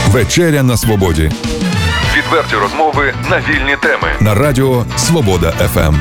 Вечеря на свободі. Відверті розмови на вільні теми. На радіо Свобода ФМ.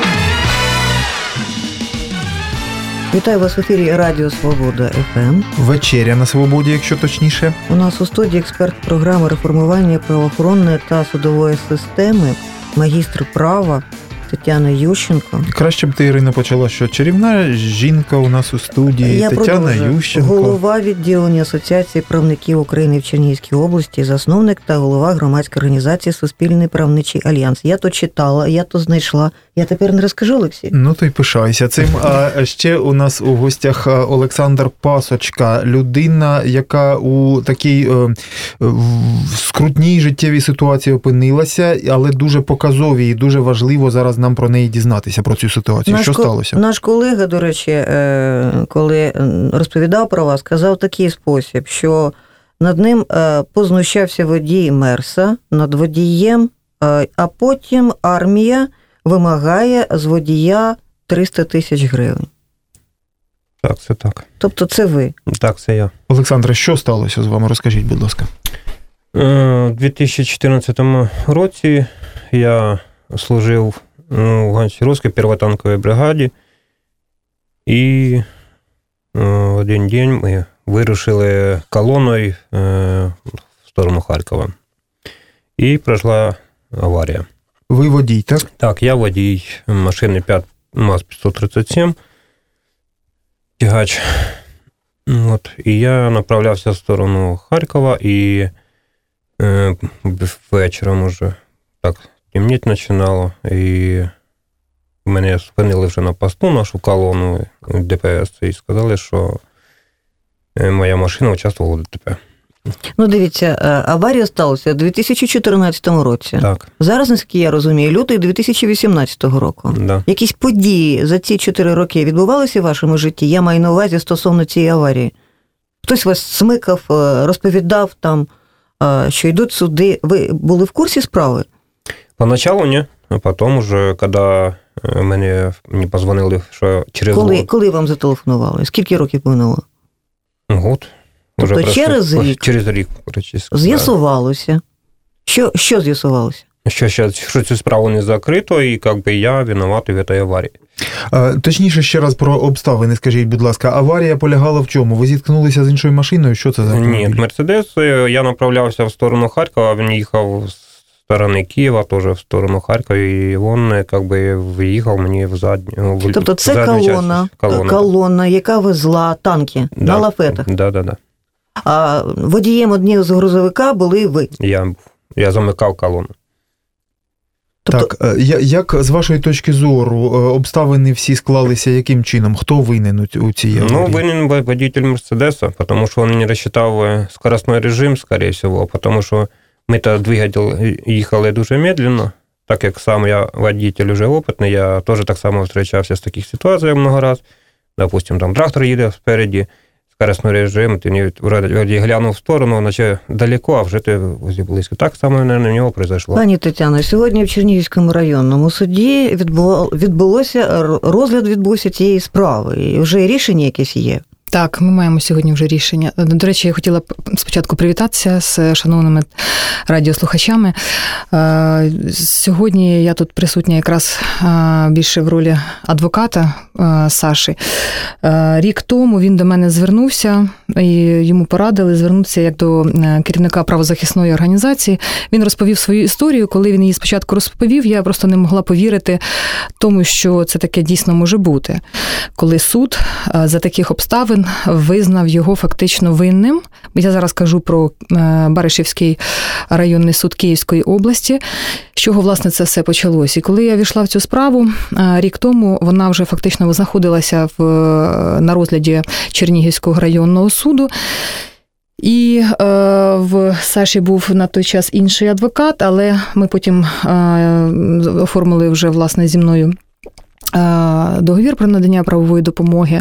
Вітаю вас в ефірі Радіо Свобода ФМ. Вечеря на свободі, якщо точніше. У нас у студії експерт програми реформування правоохоронної та судової системи, магістр права Тетяна Ющенко. Краще б ти, Ірина, почала, що чарівна жінка у нас у студії. Я Тетяна продовжую. Ющенко. Голова відділення Асоціації правників України в Чернігівській області, засновник та голова громадської організації Суспільний правничий альянс. Я то читала, я то знайшла. Я тепер не розкажу, Олексій? Ну, то й пишайся цим. А ще у нас у гостях Олександр Пасочка, людина, яка у такій скрутній життєвій ситуації опинилася, але дуже показовій і дуже важливо зараз нам про неї дізнатися, про цю ситуацію. Що сталося? Наш колега, до речі, коли розповідав про вас, сказав такий спосіб, що над ним познущався водій Мерса, над водієм, а потім армія вимагає з водія 300 тисяч гривень. Так, це так. Тобто це ви? Так, це я. Олександре, що сталося з вами? Розкажіть, будь ласка. У 2014 році я служив у Гончаровській первотанковій бригаді, і в один день ми вирушили колоною в сторону Харкова. І пройшла аварія. Ви водій, так? Так, я водій машини МАЗ-537, тягач. От. І я направлявся в сторону Харкова, і вечором уже так темніти починало, і мене спинили вже на посту, нашу колону ДПС, і сказали, що моя машина участвувала в ДТП. Ну, дивіться, аварія сталася у 2014 році. Так. Зараз, наскільки я розумію, лютий 2018 року. Да. Якісь події за ці 4 роки відбувалися в вашому житті? Я маю на увазі стосовно цієї аварії. Хтось вас смикав, розповідав там, що йдуть суди. Ви були в курсі справи? Поначалу ні, а потім уже, коли мені позвонили, що через Коли вам зателефонували? Скільки років минуло? год. Тобто уже через рік? Через рік, практично. З'ясувалося. Що з'ясувалося? Що цю справу не закрито, і я винуватий в цій аварії. Точніше, ще раз про обставини, скажіть, будь ласка. Аварія полягала в чому? Ви зіткнулися з іншою машиною? Що це за автомобіль? Ні, Мерседес. Я направлявся в сторону Харкова, він їхав з сторони Києва, теж в сторону Харкова, і він виїхав мені в задню. Тобто це колона, яка везла танки на лафетах? Да. А водієм однієї з грузовика були ви? Я замикав колону. Тобто... Так, як з вашої точки зору обставини всі склалися, яким чином? Хто винен у цій аварії? Ну, винен водитель Мерседеса, тому що він не розчитав скоростний режим, скоріше всього, тому що ми-то двигатель їхали дуже медленно, так як сам я водитель вже опитний, я теж так само зустрічався з таких ситуацій много раз. Допустим, там трактор їде спереді, скоростний режим, ти вроді глянув в сторону, наче далеко, а вже ти близько. Так само, мабуть, на нього произошло. Пані Тетяно, сьогодні в Чернігівському районному суді розгляд відбувся цієї справи, і вже рішення якесь є. Так, ми маємо сьогодні вже рішення. До речі, я хотіла спочатку привітатися з шановними радіослухачами. Сьогодні я тут присутня якраз більше в ролі адвоката Саші. Рік тому він до мене звернувся, і йому порадили звернутися як до керівника правозахисної організації. Він розповів свою історію. Коли він її спочатку розповів, я просто не могла повірити тому, що це таке дійсно може бути. Коли суд за таких обставин визнав його фактично винним. Я зараз кажу про Баришівський районний суд Київської області, з чого, власне, це все почалось. І коли я війшла в цю справу, рік тому вона вже фактично знаходилася на розгляді Чернігівського районного суду. І в Саші був на той час інший адвокат, але ми потім оформили вже, власне, зі мною договір про надання правової допомоги,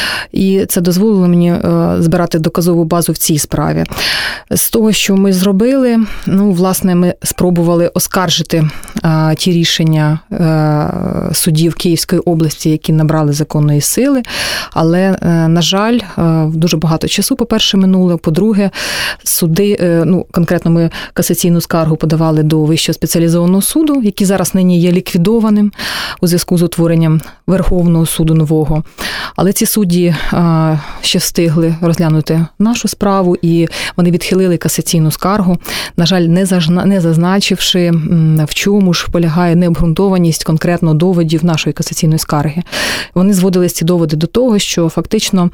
і це дозволило мені збирати доказову базу в цій справі. З того, що ми зробили, власне, ми спробували оскаржити ті рішення судів Київської області, які набрали законної сили, але, на жаль, дуже багато часу, по-перше, минуло, по-друге, суди, конкретно ми касаційну скаргу подавали до Вищого спеціалізованого суду, який зараз нині є ліквідованим у зв'язку з утворенням Верховного суду нового. Але ці судді ще встигли розглянути нашу справу, і вони відхилили касаційну скаргу, на жаль, не зазначивши, в чому ж полягає необґрунтованість конкретно доводів нашої касаційної скарги. Вони зводили ці доводи до того, що фактично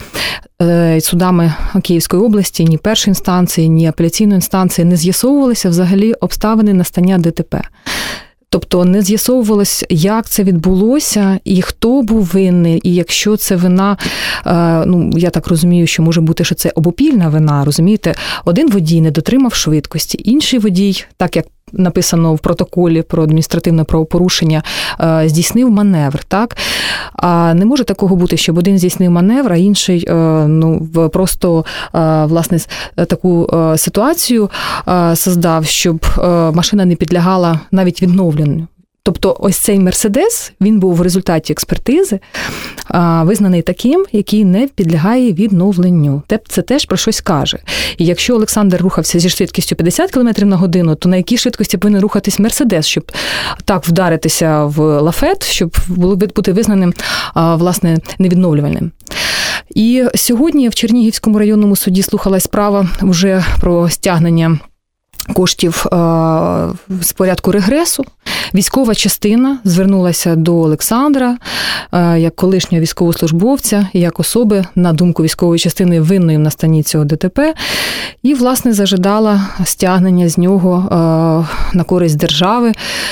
судами Київської області ні першої інстанції, ні апеляційної інстанції не з'ясовувалися взагалі обставини настання ДТП. Тобто не з'ясовувалось, як це відбулося і хто був винний, і якщо це вина, я так розумію, що може бути, що це обопільна вина, розумієте? Один водій не дотримав швидкості, інший водій, так як написано в протоколі про адміністративне правопорушення, здійснив маневр, так? А не може такого бути, щоб один здійснив маневр, а інший, просто, власне, таку ситуацію создав, щоб машина не підлягала навіть відновленню. Тобто ось цей «Мерседес», він був в результаті експертизи визнаний таким, який не підлягає відновленню. Це теж про щось каже. І якщо Олександр рухався зі швидкістю 50 км на годину, то на якій швидкості повинен рухатись «Мерседес», щоб так вдаритися в лафет, щоб бути визнаним, власне, невідновлювальним. І сьогодні в Чернігівському районному суді слухалась справа вже про стягнення коштів з порядку регресу. Військова частина звернулася до Олександра як колишнього військовослужбовця і як особи, на думку військової частини, винної в настанні цього ДТП, і, власне, зажадала стягнення з нього на користь держави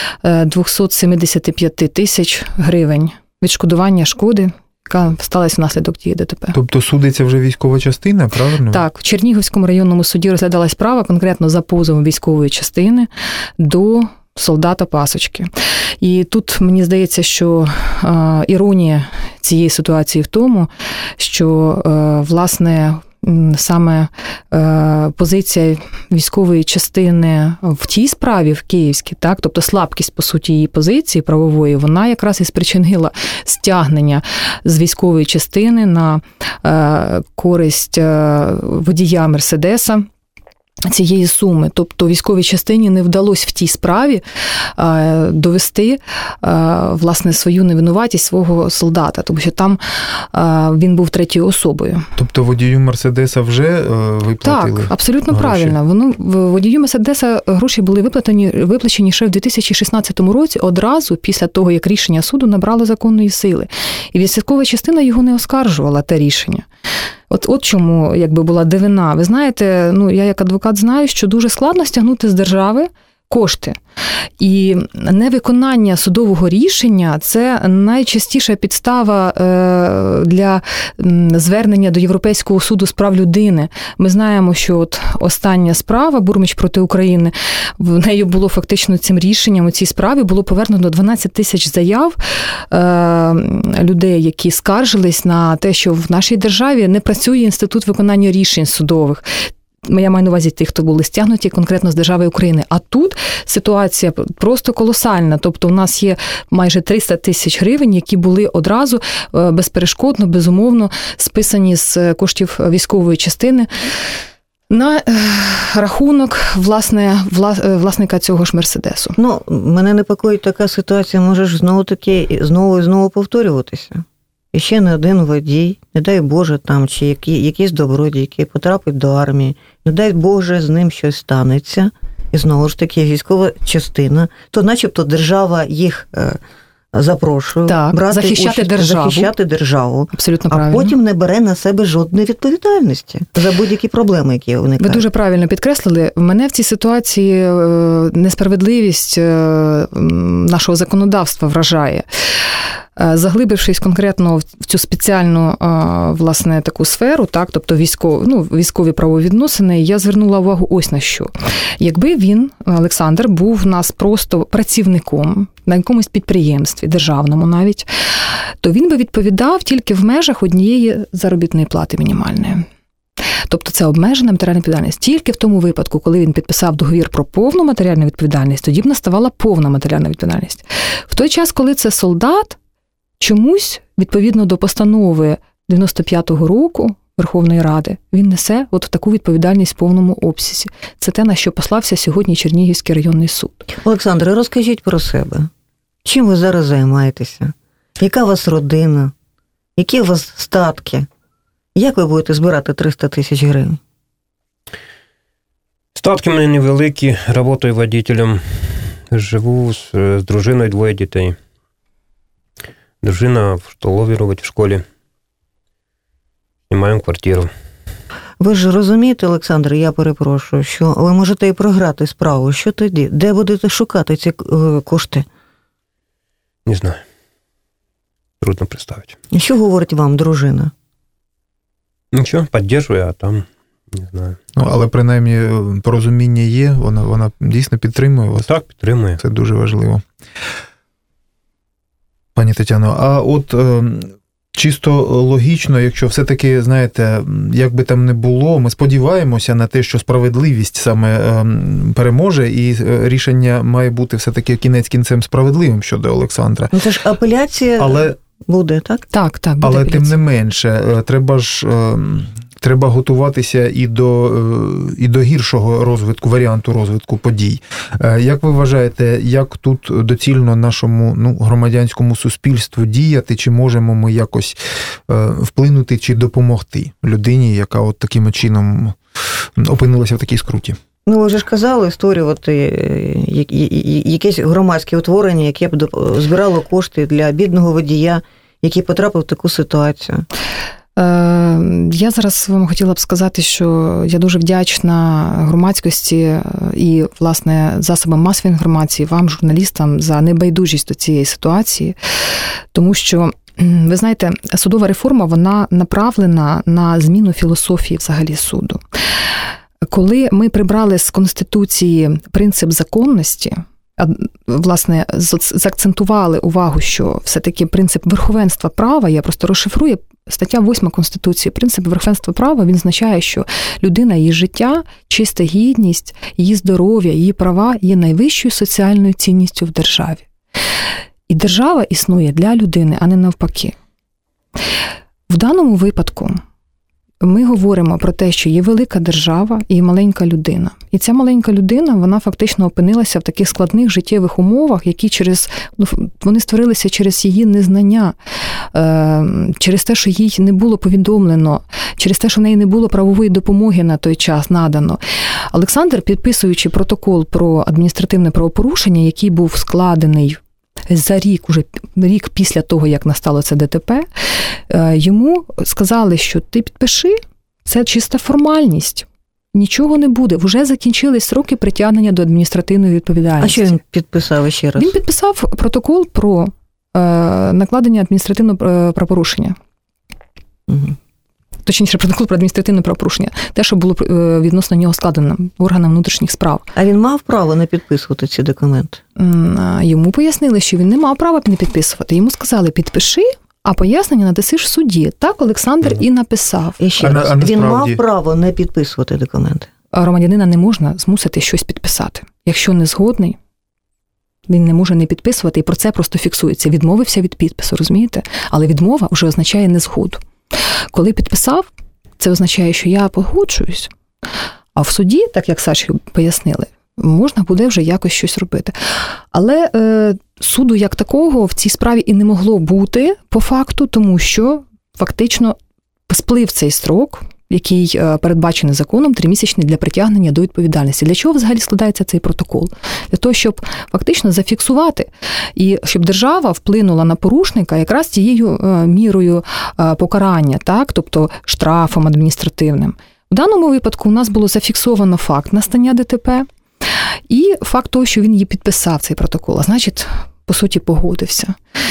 275 тисяч гривень відшкодування шкоди, яка сталася внаслідок тієї ДТП. Тобто судиться вже військова частина, правильно? Так, в Чернігівському районному суді розглядалась справа конкретно за позовом військової частини до солдата Пасочки. І тут, мені здається, що іронія цієї ситуації в тому, що, власне, саме позиція військової частини в тій справі, в Київській, так, тобто слабкість, по суті, її позиції правової, вона якраз і спричинила стягнення з військової частини на користь водія «Мерседеса» цієї суми. Тобто військовій частині не вдалося в тій справі довести, власне, свою невинуватість свого солдата, тому що там він був третьою особою. Тобто водію «Мерседеса» вже виплатили? Так, абсолютно гроші? Правильно. Водію «Мерседеса» гроші були виплачені ще в 2016 році, одразу після того, як рішення суду набрало законної сили. І військова частина його не оскаржувала, те рішення. От чому, якби, була дивина. Ви знаєте, я як адвокат знаю, що дуже складно стягнути з держави кошти. І невиконання судового рішення – це найчастіша підстава для звернення до Європейського суду з прав людини. Ми знаємо, що от остання справа Бурмич проти України, в неї було фактично цим рішенням у цій справі було повернено 12 тисяч заяв людей, які скаржились на те, що в нашій державі не працює інститут виконання рішень судових. Я маю на увазі тих, хто були стягнуті конкретно з держави України. А тут ситуація просто колосальна. Тобто у нас є майже 300 тисяч гривень, які були одразу безперешкодно, безумовно списані з коштів військової частини на рахунок власника цього ж «Мерседесу». Мене непокоїть така ситуація, може ж знову і знову повторюватися. І ще не один водій, не дай Боже, там, чи якийсь добродій, який потрапить до армії, не дай Боже, з ним щось станеться, і знову ж таки військова частина, то начебто держава їх запрошує брати захищати державу, абсолютно а правильно. Потім не бере на себе жодної відповідальності за будь-які проблеми, які виникають. Ви дуже правильно підкреслили. Мене в цій ситуації несправедливість нашого законодавства вражає. заглибившись конкретно в цю спеціальну, власне, таку сферу, так, тобто військові правовідносини, я звернула увагу ось на що. Якби він, Олександр, був в нас просто працівником на якомусь підприємстві, державному навіть, то він би відповідав тільки в межах однієї заробітної плати мінімальної. Тобто це обмежена матеріальна відповідальність. Тільки в тому випадку, коли він підписав договір про повну матеріальну відповідальність, тоді б наставала повна матеріальна відповідальність. В той час, коли це солдат, чомусь, відповідно до постанови 95-го року Верховної Ради, він несе от таку відповідальність в повному обсязі. Це те, на що послався сьогодні Чернігівський районний суд. Олександре, розкажіть про себе. Чим ви зараз займаєтеся? Яка у вас родина? Які у вас статки? Як ви будете збирати 300 тисяч гривень? Статки в мене невеликі, працюю водителем, живу з дружиною, 2 дітей. Дружина в столовій робить в школі. Знімаємо квартиру. Ви ж розумієте, Олександр, я перепрошую, що ви можете і програти справу. Що тоді? Де будете шукати ці кошти? Не знаю. Трудно представити. І що говорить вам дружина? Нічого, підтримує, а там не знаю. Ну, але принаймні порозуміння є, вона дійсно підтримує вас. Так, підтримує. Це дуже важливо. Пані Тетяно, а от чисто логічно, якщо все-таки, знаєте, як би там не було, ми сподіваємося на те, що справедливість саме переможе, і рішення має бути все-таки кінець кінцем справедливим щодо Олександра. Ну, це ж апеляція буде, так? Так, буде але апеляція. тим не менше, треба готуватися і до гіршого варіанту розвитку подій. Як ви вважаєте, як тут доцільно нашому громадянському суспільству діяти, чи можемо ми якось вплинути чи допомогти людині, яка от таким чином опинилася в такій скруті? Ну, ви ж казали створювати якесь громадське утворення, яке б збирало кошти для бідного водія, який потрапив в таку ситуацію. Я зараз вам хотіла б сказати, що я дуже вдячна громадськості і, власне, засобам масової інформації, вам, журналістам, за небайдужість до цієї ситуації, тому що, ви знаєте, судова реформа, вона направлена на зміну філософії взагалі суду. Коли ми прибрали з Конституції принцип законності, власне, заакцентували увагу, що все-таки принцип верховенства права, я просто розшифрую, стаття 8 Конституції, принцип верховенства права, він означає, що людина, її життя, чиста гідність, її здоров'я, її права є найвищою соціальною цінністю в державі. І держава існує для людини, а не навпаки. В даному випадку ми говоримо про те, що є велика держава і маленька людина. І ця маленька людина, вона фактично опинилася в таких складних життєвих умовах, які вони створилися через її незнання, через те, що їй не було повідомлено, через те, що в неї не було правової допомоги на той час надано. Олександр, підписуючи протокол про адміністративне правопорушення, який був складений за рік після того, як настало це ДТП, йому сказали, що ти підпиши, це чиста формальність, нічого не буде, вже закінчились сроки притягнення до адміністративної відповідальності. А що він підписав ще раз? Він підписав протокол про накладення адміністративного правопорушення. Угу. Точніше, протокол про адміністративне правопорушення. Те, що було відносно нього складено органам внутрішніх справ. А він мав право не підписувати ці документи? Йому пояснили, що він не мав права не підписувати. Йому сказали, підпиши, а пояснення надасиш в суді. Так Олександр і написав. І ще раз, він мав право не підписувати документи? Громадянина не можна змусити щось підписати. Якщо не згодний, він не може не підписувати, і про це просто фіксується. Відмовився від підпису, розумієте? Але відмова вже означає незгоду. Коли підписав, це означає, що я погоджуюсь. А в суді, так як Саші пояснили, можна буде вже якось щось робити. Але суду як такого в цій справі і не могло бути по факту, тому що фактично сплив цей строк, який передбачений законом, 3-місячний для притягнення до відповідальності. Для чого взагалі складається цей протокол? Для того, щоб фактично зафіксувати і щоб держава вплинула на порушника якраз тією мірою покарання, так? Тобто штрафом адміністративним. В даному випадку у нас було зафіксовано факт настання ДТП і факт того, що він її підписав, цей протокол, а значить, по суті, погодився.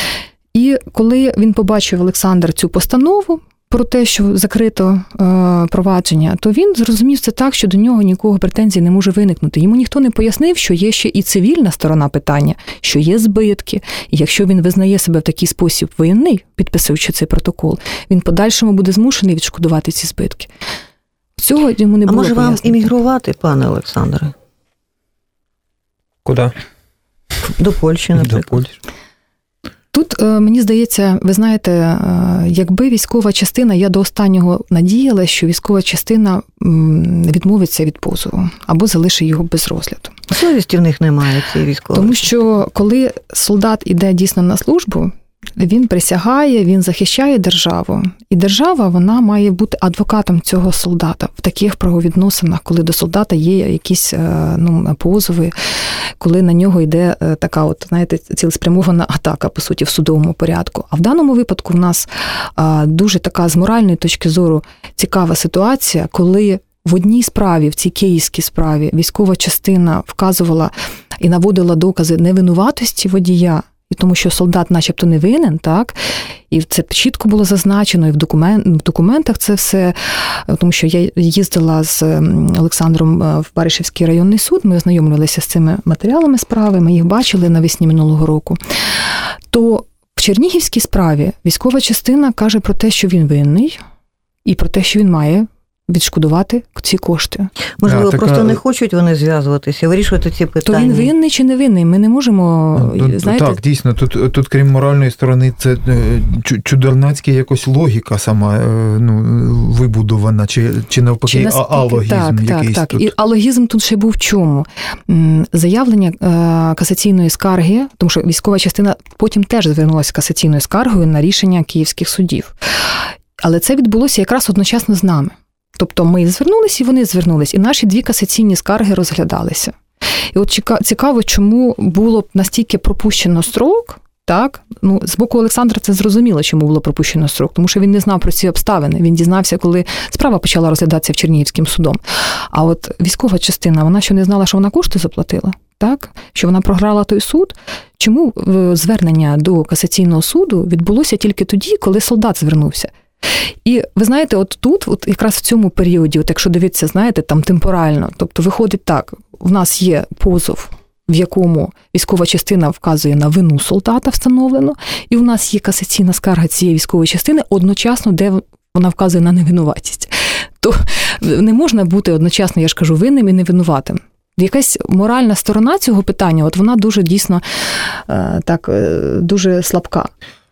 І коли він побачив, Олександр, цю постанову про те, що закрито провадження, то він зрозумів це так, що до нього нікого претензій не може виникнути. Йому ніхто не пояснив, що є ще і цивільна сторона питання, що є збитки. І якщо він визнає себе в такий спосіб винний, підписуючи цей протокол, він подальшому буде змушений відшкодувати ці збитки. Цього йому не було пояснено. А може вам іммігрувати, пане Олександре? Куди? До Польщі, наприклад. До Польщі. Тут, мені здається, ви знаєте, якби військова частина, я до останнього надіяла, що військова частина відмовиться від позову або залишить його без розгляду. Совісті в них немає, цієї військової. Тому що коли солдат іде дійсно на службу, він присягає, він захищає державу. І держава, вона має бути адвокатом цього солдата в таких правовідносинах, коли до солдата є якісь позови, коли на нього йде така, от, знаєте, цілеспрямована атака, по суті, в судовому порядку. А в даному випадку в нас дуже така з моральної точки зору цікава ситуація, коли в одній справі, в цій київській справі, військова частина вказувала і наводила докази невинуватості водія, і тому що солдат начебто не винен, так? І це чітко було зазначено, і в документах це все, тому що я їздила з Олександром в Баришівський районний суд, ми ознайомлювалися з цими матеріалами справи, ми їх бачили навесні минулого року. То в Чернігівській справі військова частина каже про те, що він винний, і про те, що він має відшкодувати ці кошти. Можливо, просто не хочуть вони зв'язуватися, вирішувати ці питання. То він винний чи не винний? Ми не можемо, знаєте... Так, дійсно, тут крім моральної сторони, це чудернацька якось логіка сама вибудована, чи навпаки алогізм якийсь. Так. Тут. І алогізм тут ще був в чому? Заявлення касаційної скарги, тому що військова частина потім теж звернулася касаційною скаргою на рішення київських судів. Але це відбулося якраз одночасно з нами. Тобто ми звернулися, і вони звернулись, і наші 2 касаційні скарги розглядалися. І от цікаво, чому було настільки пропущено строк, так? З боку Олександра це зрозуміло, чому було пропущено строк, тому що він не знав про ці обставини. Він дізнався, коли справа почала розглядатися в Чернігівським судом. А от військова частина, вона що не знала, що вона кошти заплатила, так? Що вона програла той суд. Чому звернення до касаційного суду відбулося тільки тоді, коли солдат звернувся? І ви знаєте, от тут, от якраз в цьому періоді, от якщо дивитися, знаєте, там темпорально, тобто виходить так, в нас є позов, в якому військова частина вказує на вину солдата встановлено, і в нас є касаційна скарга цієї військової частини одночасно, де вона вказує на невинуватість. То не можна бути одночасно, я ж кажу, винним і невинуватим. Якась моральна сторона цього питання, от вона дуже дійсно так, дуже слабка.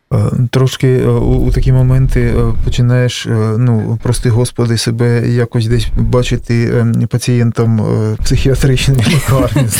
Трошки у такі моменти починаєш, прости Господи, себе якось десь бачити пацієнтом психіатричної лікарні.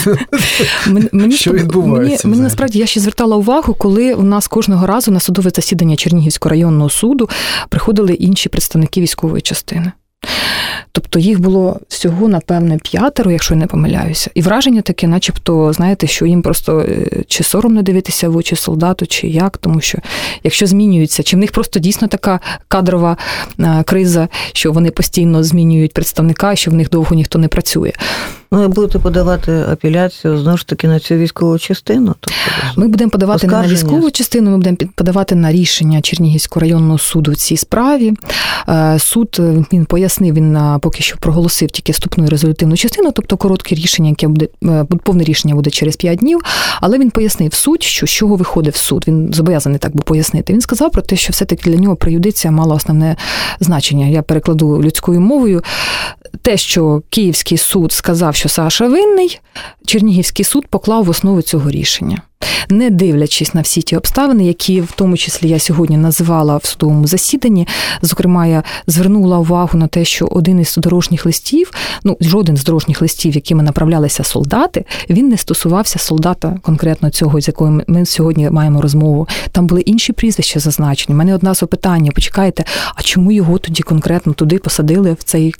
Що відбувається? Мені насправді, я ще звертала увагу, коли у нас кожного разу на судове засідання Чернігівського районного суду приходили інші представники військової частини. Тобто їх було всього, напевне, 5, якщо я не помиляюся. І враження таке, начебто, знаєте, що їм просто чи соромно дивитися в очі солдату, чи як, тому що якщо змінюються, чи в них просто дійсно така кадрова криза, що вони постійно змінюють представника, що в них довго ніхто не працює. Ви будете подавати апеляцію, знову ж таки, на цю військову частину? Ми будемо подавати не на військову частину, ми будемо подавати на рішення Чернігівського районного суду в цій справі. Суд, він пояснив, він поки що проголосив тільки вступну і резолютивну частину, тобто коротке рішення, яке буде, повне рішення буде через 5 днів, але він пояснив суть, що з чого виходить в суд. Він зобов'язаний так був пояснити. Він сказав про те, що все-таки для нього преюдиція мала основне значення. Я перекладу людською мовою. Те, що Київський суд сказав, що Саша винний, Чернігівський суд поклав в основу цього рішення. Не дивлячись на всі ті обставини, які в тому числі я сьогодні називала в судовому засіданні, зокрема, я звернула увагу на те, що один із дорожніх листів, жоден з дорожніх листів, якими направлялися солдати, він не стосувався солдата конкретно цього, з якою ми сьогодні маємо розмову. Там були інші прізвища зазначені. У мене одне запитання, почекайте, а чому його тоді конкретно туди посадили, в цей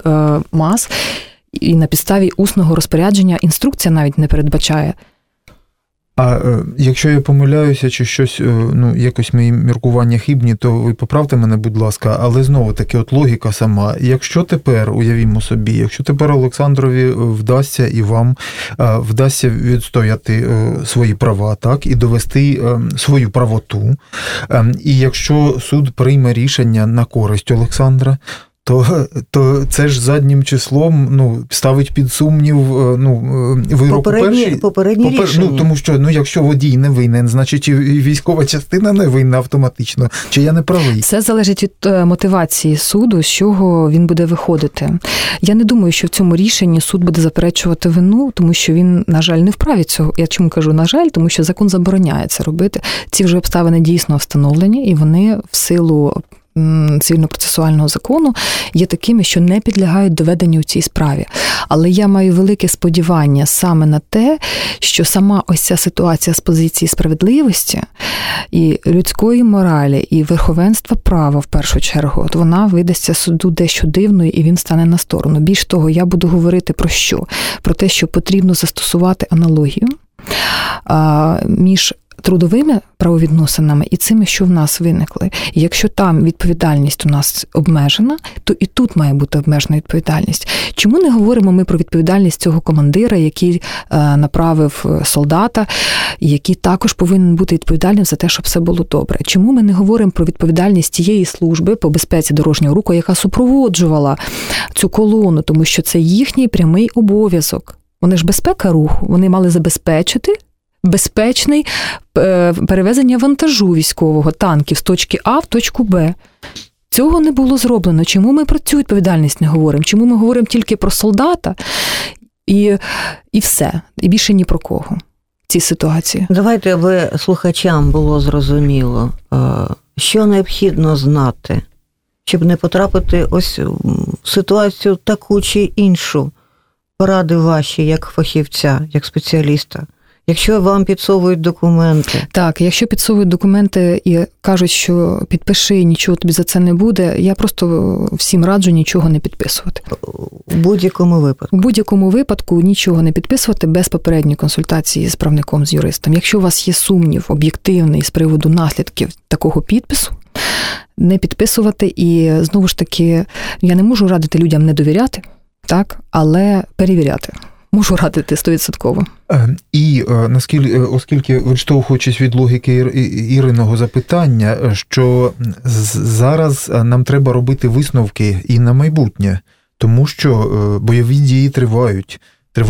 МАЗ, і на підставі усного розпорядження інструкція навіть не передбачає. А якщо я помиляюся, чи щось, якось мої міркування хибні, то ви поправте мене, будь ласка, але знову-таки, от логіка сама. Якщо тепер, уявімо собі, якщо тепер Олександрові вдасться і вам вдасться відстояти свої права, так, і довести свою правоту, і якщо суд прийме рішення на користь Олександра, то це ж заднім числом ставить під сумнів вирок попередні рішення. Тому що якщо водій не винен, значить і військова частина не винна автоматично. Чи я не правий? Це залежить від мотивації суду, з чого він буде виходити. Я не думаю, що в цьому рішенні суд буде заперечувати вину, тому що він, на жаль, не вправі цього. Я чому кажу, на жаль, тому що закон забороняє це робити. Ці вже обставини дійсно встановлені, і вони в силу цивільно-процесуального закону є такими, що не підлягають доведенню у цій справі. Але я маю велике сподівання саме на те, що сама ось ця ситуація з позиції справедливості і людської моралі, і верховенства права, в першу чергу, от вона видасться суду дещо дивною, і він стане на сторону. Більш того, я буду говорити про що? Про те, що потрібно застосувати аналогію між трудовими правовідносинами і цими, що в нас виникли. І якщо там відповідальність у нас обмежена, то і тут має бути обмежена відповідальність. Чому не говоримо ми про відповідальність цього командира, який направив солдата, і який також повинен бути відповідальним за те, щоб все було добре? Чому ми не говоримо про відповідальність тієї служби по безпеці дорожнього руху, яка супроводжувала цю колону, тому що це їхній прямий обов'язок. Вони ж безпека руху, вони мали забезпечити безпечне перевезення вантажу військового, танків з точки А в точку Б. Цього не було зроблено. Чому ми про цю відповідальність не говоримо? Чому ми говоримо тільки про солдата і все, і більше ні про кого в цій ситуації? Давайте, аби слухачам було зрозуміло, що необхідно знати, щоб не потрапити ось в ситуацію таку чи іншу. Поради ваші, як фахівця, як спеціаліста. Якщо вам підсовують документи. Так, якщо підсовують документи і кажуть, що підпиши, нічого тобі за це не буде, я просто всім раджу нічого не підписувати. У будь-якому випадку? У будь-якому випадку нічого не підписувати без попередньої консультації з правником, з юристом. Якщо у вас є сумнів об'єктивний з приводу наслідків такого підпису, не підписувати. І, знову ж таки, я не можу радити людям не довіряти, так, але перевіряти. Можу радити 100%. І оскільки, відштовхуючись від логіки Іриного запитання, що зараз нам треба робити висновки і на майбутнє, тому що бойові дії тривають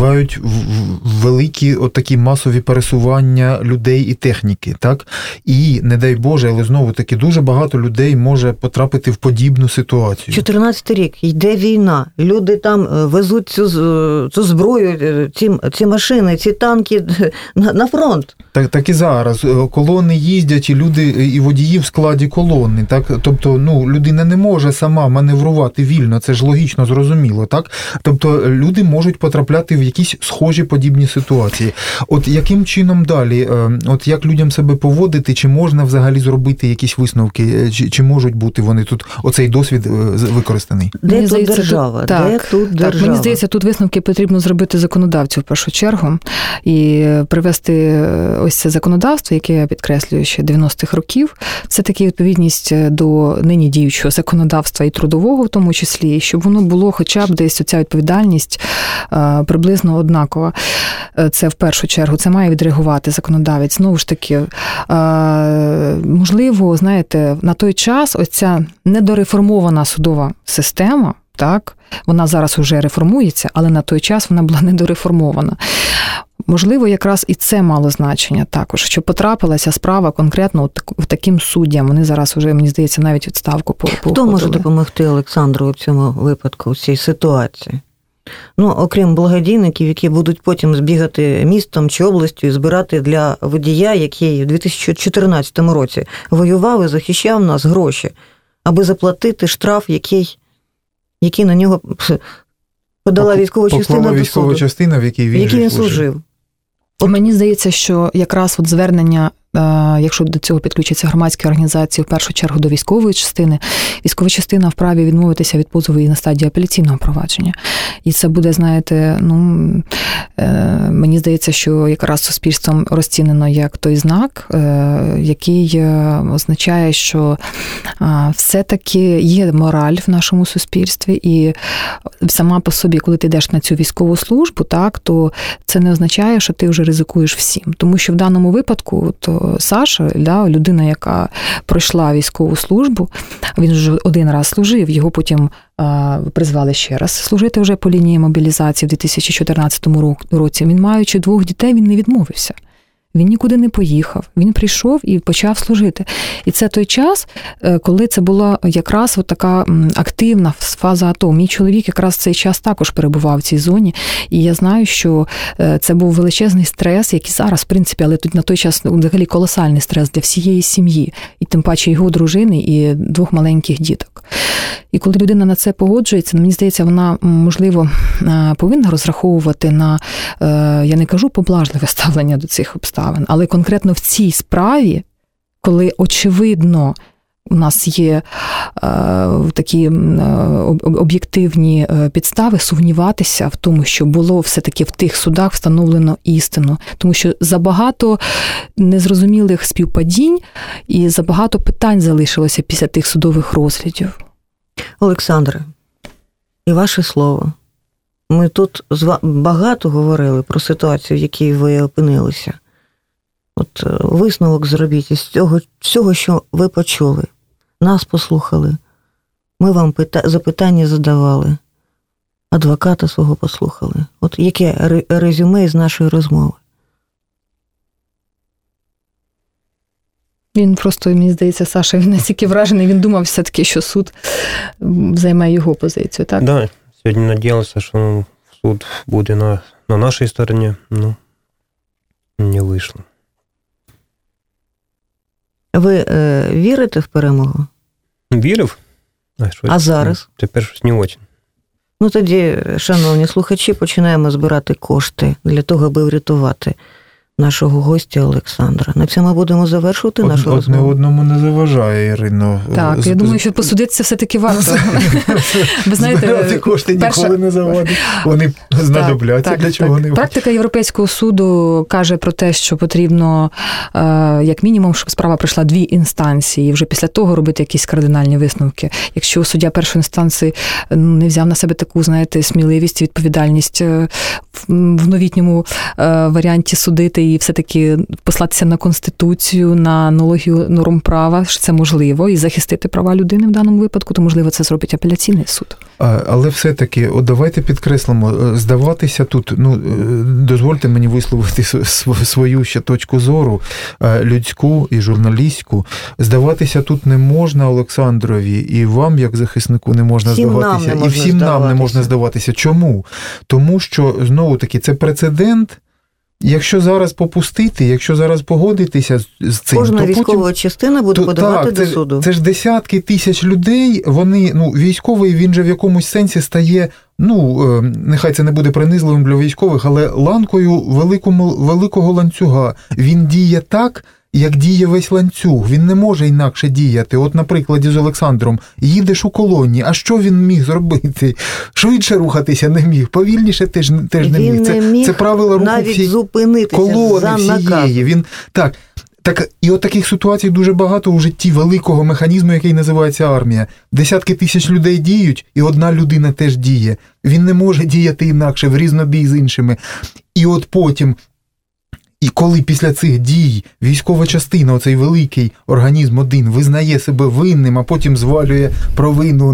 великі отакі масові пересування людей і техніки, так? І, не дай Боже, але знову-таки дуже багато людей може потрапити в подібну ситуацію. 14-й рік, йде війна, люди там везуть цю зброю, ці машини, ці танки на фронт. Так і зараз. Колони їздять, і люди, і водії в складі колони, так? Тобто, людина не може сама маневрувати вільно, це ж логічно, зрозуміло, так? Тобто, люди можуть потрапляти в якісь схожі подібні ситуації. От яким чином далі? От як людям себе поводити? Чи можна взагалі зробити якісь висновки? Чи можуть бути вони тут, оцей досвід використаний? Де тут держава? Мені здається, тут висновки потрібно зробити законодавцю в першу чергу і привести ось це законодавство, яке я підкреслюю ще 90-х років. Це таки відповідність до нині діючого законодавства і трудового в тому числі, щоб воно було хоча б десь оця відповідальність приблизно однакова. Це в першу чергу, це має відреагувати законодавець. Знову ж таки, можливо, знаєте, на той час оця недореформована судова система, так, вона зараз уже реформується, але на той час вона була недореформована. Можливо, якраз і це мало значення також, що потрапилася справа конкретно в таким суддям. Вони зараз вже, мені здається, навіть відставку походили. Хто може допомогти Олександру в цьому випадку, в цій ситуації? Окрім благодійників, які будуть потім збігати містом чи областю і збирати для водія, який в 2014 році воював і захищав нас, гроші, аби заплатити штраф, який на нього подала військова частина до суду. В якій він служив. Мені здається, що якраз звернення якщо до цього підключаться громадські організації, в першу чергу до військової частини, військова частина вправі відмовитися від позову і на стадії апеляційного провадження. І це буде, знаєте, мені здається, що якраз суспільством розцінено як той знак, який означає, що все-таки є мораль в нашому суспільстві, і сама по собі, коли ти йдеш на цю військову службу, так, то це не означає, що ти вже ризикуєш всім. Тому що в даному випадку Саша, людина, яка пройшла військову службу, він вже один раз служив, його потім призвали ще раз служити вже по лінії мобілізації в 2014 році. Він, маючи 2 дітей, він не відмовився. Він нікуди не поїхав, він прийшов і почав служити. І це той час, коли це була якраз така активна фаза АТО. Мій чоловік якраз в цей час також перебував в цій зоні, і я знаю, що це був величезний стрес, який зараз, в принципі, але тут на той час взагалі колосальний стрес для всієї сім'ї, і тим паче його дружини і 2 маленьких діток. І коли людина на це погоджується, мені здається, вона, можливо, повинна розраховувати на, я не кажу поблажливе ставлення до цих обставин, але конкретно в цій справі, коли, очевидно, у нас є такі об'єктивні підстави сумніватися в тому, що було все-таки в тих судах встановлено істину. Тому що забагато незрозумілих співпадінь і забагато питань залишилося після тих судових розглядів. Олександре, і ваше слово. Ми тут багато говорили про ситуацію, в якій ви опинилися. От висновок зробіть із цього всього, що ви почули. Нас послухали. Ми вам запитання задавали. Адвоката свого послухали. От яке резюме з нашої розмови? Він просто, мені здається, Саша, він настільки вражений, він думав все-таки, що суд займе його позицію, так? Да, сьогодні надіялися, що суд буде на нашій стороні, не вийшло. Ви вірите в перемогу? Вірив. А зараз? Тепер щось не дуже. Тоді, шановні слухачі, починаємо збирати кошти для того, аби врятувати нашого гостя Олександра. На цьому будемо завершувати нашу розмову. Одне одному не заважає, Ірино. Так, я думаю, що посудитися все-таки варто. Ви знаєте, кошти ніколи не завадять. Вони знадобляться для чого-небудь. Практика Європейського суду каже про те, що потрібно, як мінімум, щоб справа пройшла 2 інстанції, і вже після того робити якісь кардинальні висновки. Якщо суддя першої інстанції не взяв на себе таку, знаєте, сміливість, відповідальність в новітньому варіанті судити і все-таки послатися на Конституцію, на аналогію норм права, що це можливо, і захистити права людини в даному випадку, то, можливо, це зробить апеляційний суд. Але все-таки, давайте підкреслимо, здаватися тут, дозвольте мені висловити свою ще точку зору, людську і журналістську, здаватися тут не можна Олександрові, і вам, як захиснику, не можна здаватися, і всім нам не можна здаватися. Чому? Тому що, знову-таки, це прецедент. Якщо зараз попустити, якщо зараз погодитися з цим, кожна військова частина буде подавати до суду. Це ж десятки тисяч людей, вони, військовий, він же в якомусь сенсі стає, нехай це не буде принизливим для військових, але ланкою великого ланцюга. Він діє так, як діє весь ланцюг. Він не може інакше діяти. От, на прикладі з Олександром, їдеш у колоні, а що він міг зробити? Швидше рухатися не міг, повільніше теж не міг. Це правила руху всієї колони всієї. Так, і от таких ситуацій дуже багато у житті великого механізму, який називається армія. Десятки тисяч людей діють, і одна людина теж діє. Він не може діяти інакше, в різнобій з іншими. І от потім, і коли після цих дій військова частина, оцей великий організм один, визнає себе винним, а потім звалює провину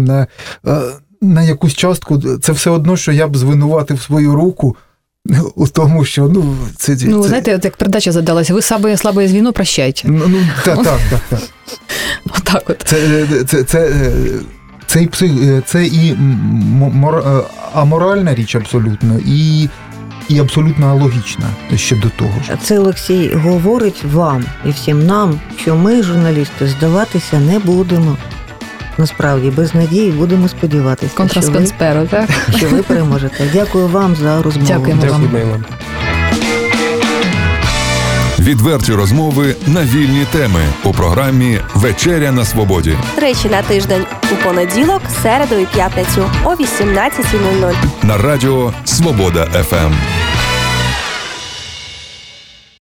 на якусь частку, це все одно, що я б звинуватив свою руку у тому, що, це... знаєте, от як передача задалася, ви слабе звіно, прощайте. Так. Отак от. Це і аморальна річ абсолютно, і абсолютно логічна ще до того ж. Це Олексій говорить вам і всім нам, що ми, журналісти, здаватися не будемо. Насправді, без надії будемо сподіватися, що ви переможете. Дякую вам за розмову. Дякуємо вам. Відверті розмови на вільні теми у програмі «Вечеря на свободі». Тричі на тиждень у понеділок, середу і п'ятницю о 18:00. На радіо «Свобода ФМ».